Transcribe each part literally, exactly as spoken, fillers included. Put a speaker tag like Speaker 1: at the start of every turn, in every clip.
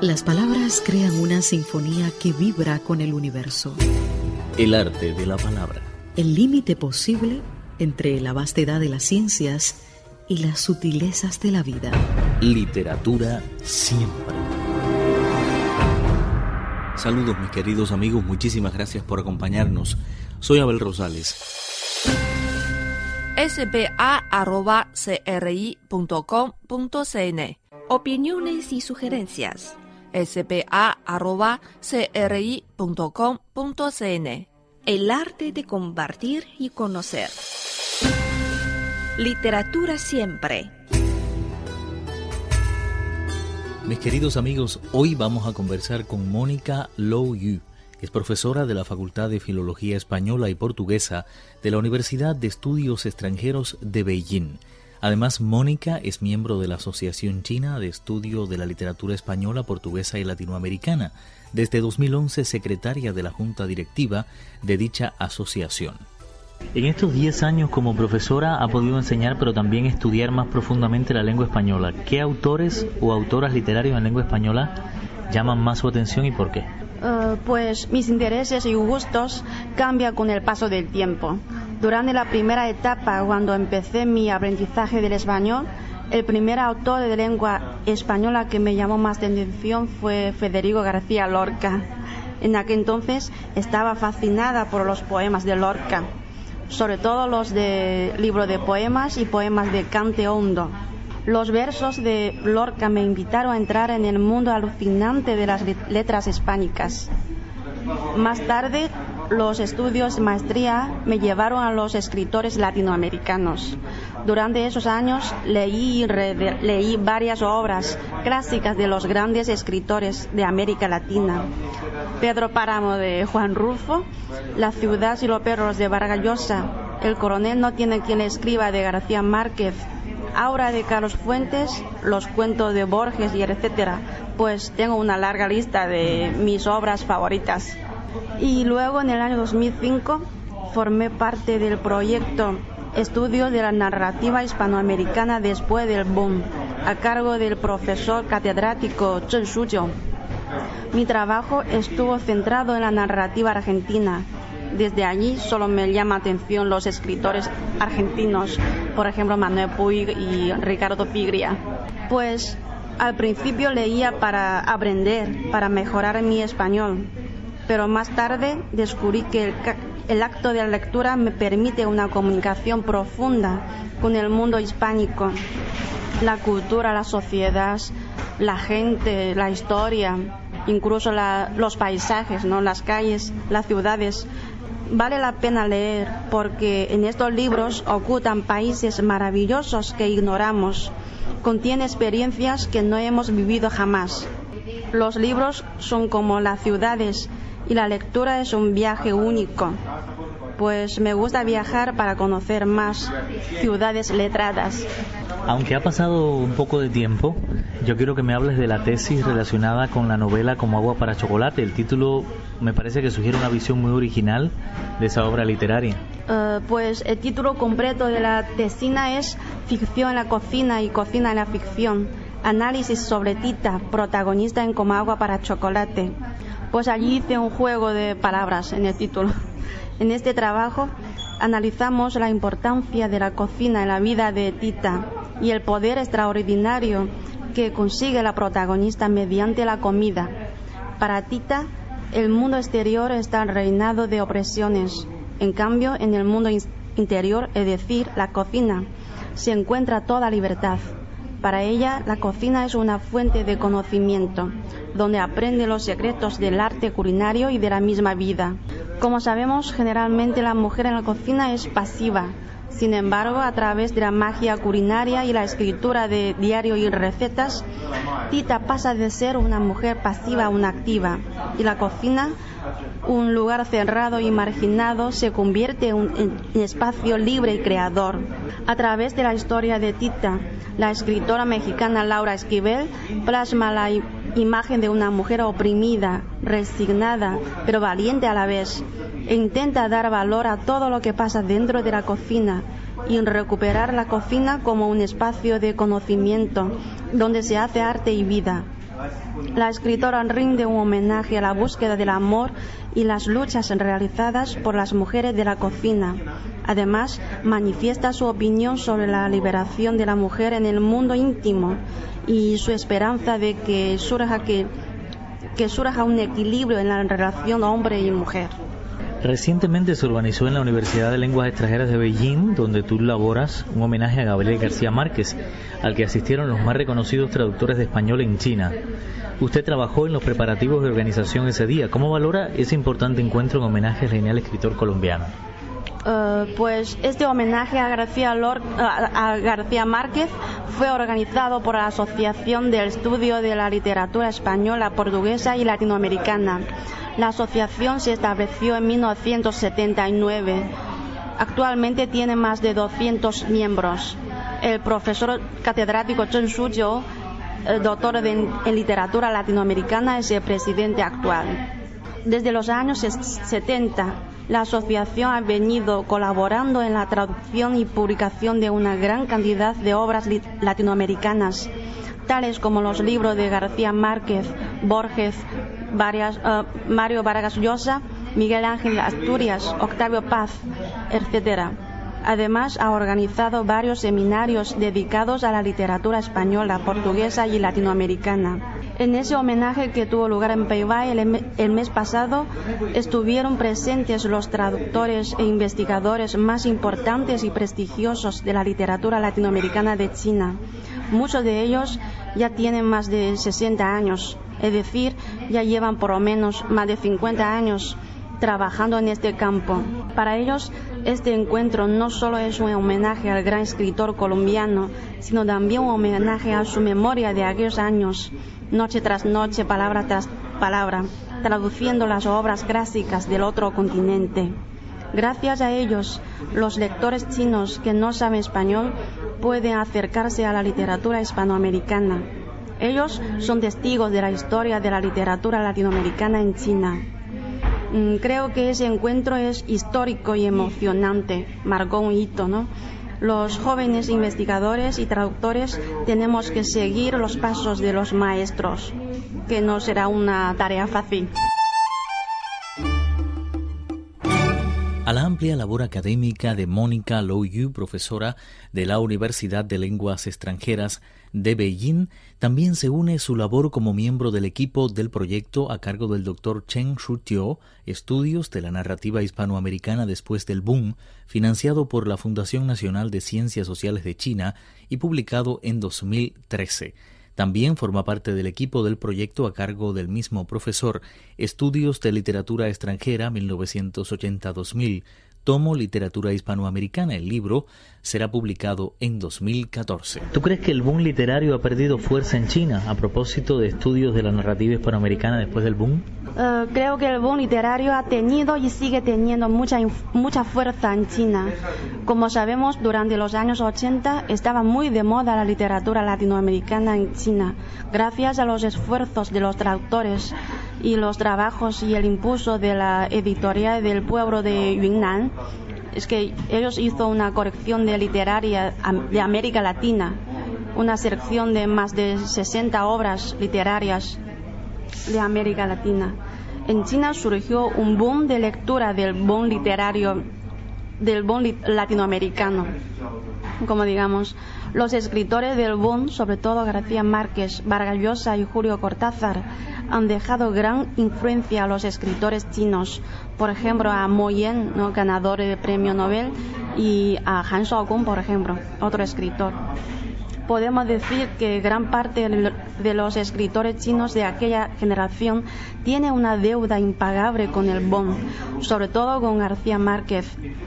Speaker 1: Las palabras crean una sinfonía que vibra con el universo.
Speaker 2: El arte de la palabra.
Speaker 1: El límite posible entre la vastedad de las ciencias y las sutilezas de la vida.
Speaker 2: Literatura siempre. Saludos mis queridos amigos, muchísimas gracias por acompañarnos. Soy Abel Rosales.
Speaker 3: s b a arroba c r i punto com punto c n. Opiniones y sugerencias. s b a arroba c r i punto com punto c n.
Speaker 4: El arte de compartir y conocer. Literatura siempre.
Speaker 2: Mis queridos amigos, hoy vamos a conversar con Mónica Lo Yu. Es profesora de la Facultad de Filología Española y Portuguesa de la Universidad de Estudios Extranjeros de Beijing. Además, Mónica es miembro de la Asociación China de Estudio de la Literatura Española, Portuguesa y Latinoamericana. Desde dos mil once, secretaria de la Junta Directiva de dicha asociación.
Speaker 5: En estos diez años como profesora ha podido enseñar, pero también estudiar más profundamente la lengua española. ¿Qué autores o autoras literarios en lengua española llaman más su atención y por qué?
Speaker 6: Uh, pues mis intereses y gustos cambian con el paso del tiempo. Durante la primera etapa, cuando empecé mi aprendizaje del español, el primer autor de lengua española que me llamó más la atención fue Federico García Lorca. En aquel entonces estaba fascinada por los poemas de Lorca, sobre todo los de libro de poemas y poemas de cante hondo. Los versos de Lorca me invitaron a entrar en el mundo alucinante de las letras hispánicas. Más tarde, los estudios de maestría me llevaron a los escritores latinoamericanos. Durante esos años leí y releí varias obras clásicas de los grandes escritores de América Latina. Pedro Páramo de Juan Rulfo, La ciudad y los perros de Vargas Llosa, El coronel no tiene quien le escriba de García Márquez, Aura de Carlos Fuentes, los cuentos de Borges y etcétera. Pues tengo una larga lista de mis obras favoritas. Y luego en el año dos mil cinco formé parte del proyecto Estudios de la Narrativa Hispanoamericana después del boom, a cargo del profesor catedrático Zheng Shujiu. Mi trabajo estuvo centrado en la narrativa argentina. Desde allí solo me llama atención los escritores argentinos, por ejemplo Manuel Puig y Ricardo Piglia. Pues al principio leía para aprender, para mejorar mi español, pero más tarde descubrí que el, el acto de la lectura me permite una comunicación profunda con el mundo hispánico, la cultura, la sociedad, la gente, la historia, incluso la, los paisajes, ¿no? Las calles, las ciudades. Vale la pena leer porque en estos libros ocultan países maravillosos que ignoramos. Contiene experiencias que no hemos vivido jamás. Los libros son como las ciudades y la lectura es un viaje único. Pues me gusta viajar para conocer más ciudades letradas.
Speaker 5: Aunque ha pasado un poco de tiempo, yo quiero que me hables de la tesis relacionada con la novela Como agua para chocolate. El título me parece que sugiere una visión muy original de esa obra literaria.
Speaker 6: Uh, pues el título completo de la tesina es Ficción en la cocina y cocina en la ficción. Análisis sobre Tita, protagonista en Como agua para chocolate. Pues allí hice un juego de palabras en el título. En este trabajo analizamos la importancia de la cocina en la vida de Tita y el poder extraordinario que consigue la protagonista mediante la comida. Para Tita, el mundo exterior está reinado de opresiones. En cambio, en el mundo interior, es decir, la cocina, se encuentra toda libertad. Para ella, la cocina es una fuente de conocimiento, donde aprende los secretos del arte culinario y de la misma vida. Como sabemos, generalmente la mujer en la cocina es pasiva. Sin embargo, a través de la magia culinaria y la escritura de diario y recetas, Tita pasa de ser una mujer pasiva a una activa, y la cocina, un lugar cerrado y marginado, se convierte en un espacio libre y creador. A través de la historia de Tita, la escritora mexicana Laura Esquivel plasma la imagen de una mujer oprimida, resignada, pero valiente a la vez, e intenta dar valor a todo lo que pasa dentro de la cocina y recuperar la cocina como un espacio de conocimiento donde se hace arte y vida. La escritora rinde un homenaje a la búsqueda del amor y las luchas realizadas por las mujeres de la cocina. Además, manifiesta su opinión sobre la liberación de la mujer en el mundo íntimo y su esperanza de que surja, que, que surja un equilibrio en la relación hombre y mujer.
Speaker 5: Recientemente se organizó en la Universidad de Lenguas Extranjeras de Beijing, donde tú laboras, un homenaje a Gabriel García Márquez, al que asistieron los más reconocidos traductores de español en China. Usted trabajó en los preparativos de organización ese día. ¿Cómo valora ese importante encuentro en homenaje al genial escritor colombiano?
Speaker 6: Uh, pues este homenaje a García, Lor- a, a García Márquez fue organizado por la Asociación del Estudio de la Literatura Española, Portuguesa y Latinoamericana. La asociación se estableció en mil novecientos setenta y nueve. Actualmente tiene más de doscientos miembros. El profesor catedrático Chen Shujiu, el doctor de, en literatura latinoamericana, es el presidente actual. Desde los años setenta, la asociación ha venido colaborando en la traducción y publicación de una gran cantidad de obras latinoamericanas, tales como los libros de García Márquez, Borges, varias, uh, Mario Vargas Llosa, Miguel Ángel Asturias, Octavio Paz, etcétera. Además, ha organizado varios seminarios dedicados a la literatura española, portuguesa y latinoamericana. En ese homenaje que tuvo lugar en Peibay el, el mes pasado, estuvieron presentes los traductores e investigadores más importantes y prestigiosos de la literatura latinoamericana de China. Muchos de ellos ya tienen más de sesenta años, es decir, ya llevan por lo menos más de cincuenta años trabajando en este campo. Para ellos, este encuentro no solo es un homenaje al gran escritor colombiano, sino también un homenaje a su memoria de aquellos años, noche tras noche, palabra tras palabra, traduciendo las obras clásicas del otro continente. Gracias a ellos, los lectores chinos que no saben español pueden acercarse a la literatura hispanoamericana. Ellos son testigos de la historia de la literatura latinoamericana en China. Creo que ese encuentro es histórico y emocionante, marcó un hito, ¿no? Los jóvenes investigadores y traductores tenemos que seguir los pasos de los maestros, que no será una tarea fácil.
Speaker 2: A la amplia labor académica de Mónica Lou Yu, profesora de la Universidad de Lenguas Extranjeras de Beijing, también se une su labor como miembro del equipo del proyecto a cargo del doctor Chen Shujiu, Estudios de la Narrativa Hispanoamericana después del Boom, financiado por la Fundación Nacional de Ciencias Sociales de China y publicado en dos mil trece. También forma parte del equipo del proyecto a cargo del mismo profesor, Estudios de Literatura Extranjera mil novecientos ochenta a dos mil, tomo Literatura Hispanoamericana. El libro será publicado en dos mil catorce.
Speaker 5: ¿Tú crees que el boom literario ha perdido fuerza en China a propósito de estudios de la narrativa hispanoamericana después del boom?
Speaker 6: Uh, creo que el boom literario ha tenido y sigue teniendo mucha, mucha fuerza en China. Como sabemos, durante los años ochenta estaba muy de moda la literatura latinoamericana en China, gracias a los esfuerzos de los traductores y los trabajos y el impulso de la editorial del pueblo de Yunnan. Es que ellos hizo una colección de literaria de América Latina, una selección de más de sesenta obras literarias de América Latina. En China surgió un boom de lectura del boom literario, del boom li- latinoamericano. Como digamos, los escritores del boom, sobre todo García Márquez, Vargas Llosa y Julio Cortázar, han dejado gran influencia a los escritores chinos. Por ejemplo, a Mo Yan, ¿no?, ganador del premio Nobel, y a Han Shaokun, por ejemplo, otro escritor. Podemos decir que gran parte de los escritores chinos de aquella generación tiene una deuda impagable con el boom, sobre todo con García Márquez.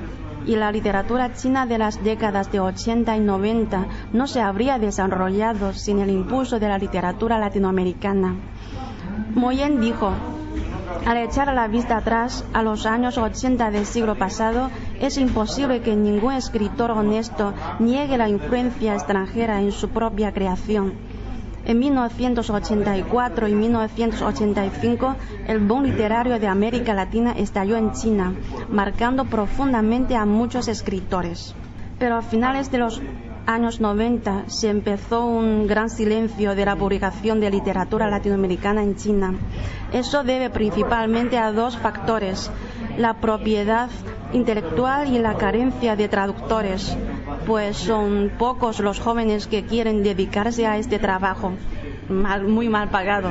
Speaker 6: Y la literatura china de las décadas de ochenta y noventa no se habría desarrollado sin el impulso de la literatura latinoamericana. Mo Yan dijo: al echar la vista atrás a los años ochenta del siglo pasado, es imposible que ningún escritor honesto niegue la influencia extranjera en su propia creación. En mil novecientos ochenta y cuatro y mil novecientos ochenta y cinco, el boom literario de América Latina estalló en China, marcando profundamente a muchos escritores. Pero a finales de los años noventa se empezó un gran silencio de la publicación de literatura latinoamericana en China. Eso debe principalmente a dos factores: la propiedad intelectual y la carencia de traductores, pues son pocos los jóvenes que quieren dedicarse a este trabajo, mal, muy mal pagado.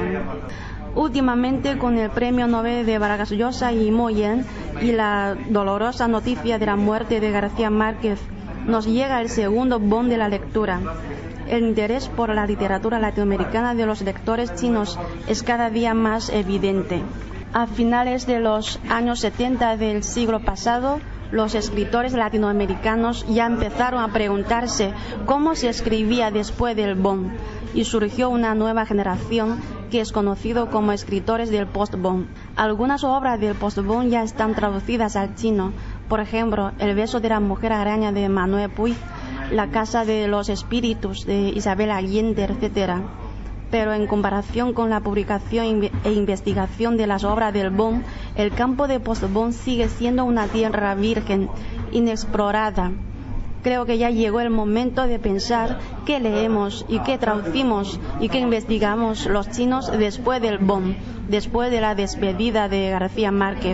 Speaker 6: Últimamente, con el premio Nobel de Vargas Llosa y Mo Yan y la dolorosa noticia de la muerte de García Márquez, nos llega el segundo boom de la lectura. El interés por la literatura latinoamericana de los lectores chinos es cada día más evidente. A finales de los años setenta del siglo pasado, los escritores latinoamericanos ya empezaron a preguntarse cómo se escribía después del boom, y surgió una nueva generación que es conocido como escritores del post-boom. Algunas obras del post-boom ya están traducidas al chino, por ejemplo, El beso de la mujer araña de Manuel Puig, La casa de los espíritus de Isabel Allende, etcétera. Pero en comparación con la publicación e investigación de las obras del boom, el campo de post-boom sigue siendo una tierra virgen, inexplorada. Creo que ya llegó el momento de pensar qué leemos y qué traducimos y qué investigamos los chinos después del boom, después de la despedida de García Márquez.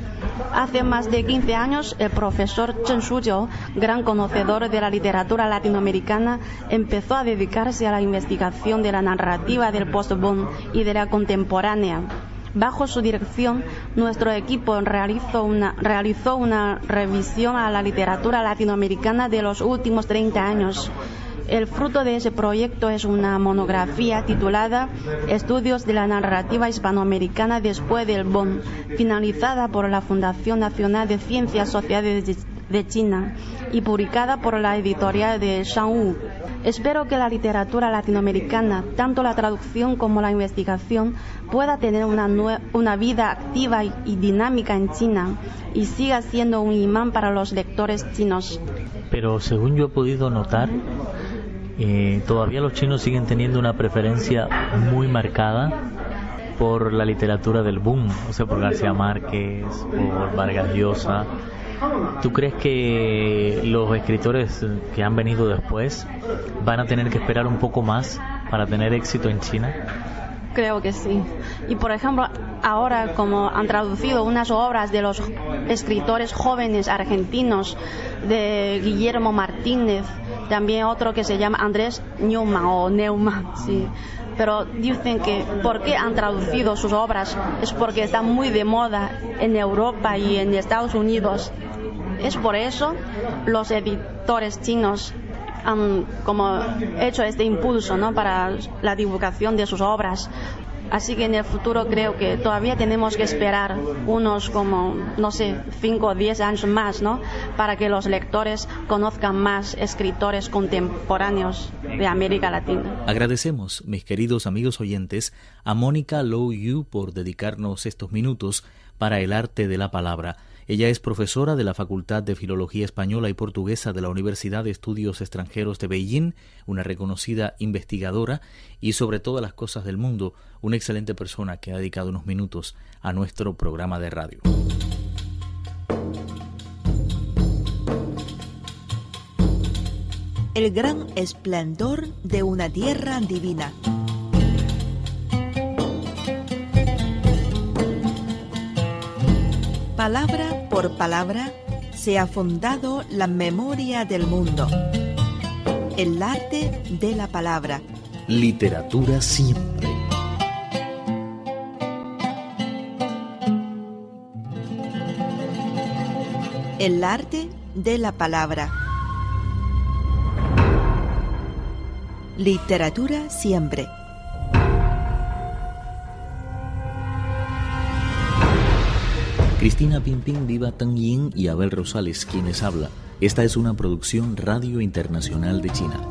Speaker 6: Hace más de quince años, el profesor Chen Shujiu, gran conocedor de la literatura latinoamericana, empezó a dedicarse a la investigación de la narrativa del post-boom y de la contemporánea. Bajo su dirección, nuestro equipo realizó una, realizó una revisión a la literatura latinoamericana de los últimos treinta años. El fruto de ese proyecto es una monografía titulada Estudios de la narrativa hispanoamericana después del boom, finalizada por la Fundación Nacional de Ciencias Sociales de China y publicada por la editorial de Shangwu. Espero que la literatura latinoamericana, tanto la traducción como la investigación, pueda tener una, nue- una vida activa y, y dinámica en China y siga siendo un imán para los lectores chinos.
Speaker 5: Pero según yo he podido notar, eh, todavía los chinos siguen teniendo una preferencia muy marcada por la literatura del boom, o sea, por García Márquez, por Vargas Llosa. ¿Tú crees que los escritores que han venido después van a tener que esperar un poco más para tener éxito en China?
Speaker 6: Creo que sí. Y por ejemplo, ahora como han traducido unas obras de los escritores jóvenes argentinos, de Guillermo Martínez, también otro que se llama Andrés Neumann o Neumann, sí. Pero dicen que ¿por qué han traducido sus obras? Es porque están muy de moda en Europa y en Estados Unidos. Es por eso los editores chinos han como hecho este impulso, ¿no?, para la divulgación de sus obras. Así que en el futuro creo que todavía tenemos que esperar unos como, no sé, cinco o diez años más, ¿no?, para que los lectores conozcan más escritores contemporáneos de América Latina.
Speaker 2: Agradecemos, mis queridos amigos oyentes, a Mónica Lou Yu por dedicarnos estos minutos para el arte de la palabra. Ella es profesora de la Facultad de Filología Española y Portuguesa de la Universidad de Estudios Extranjeros de Beijing, una reconocida investigadora y, sobre todas las cosas del mundo, una excelente persona que ha dedicado unos minutos a nuestro programa de radio.
Speaker 4: El gran esplendor de una tierra divina. Palabra por palabra se ha fundado la memoria del mundo. El arte de la palabra.
Speaker 2: Literatura siempre.
Speaker 4: El arte de la palabra. Literatura siempre.
Speaker 2: Cristina Pimpín, Viva Tang Yin y Abel Rosales, quienes habla. Esta es una producción Radio Internacional de China.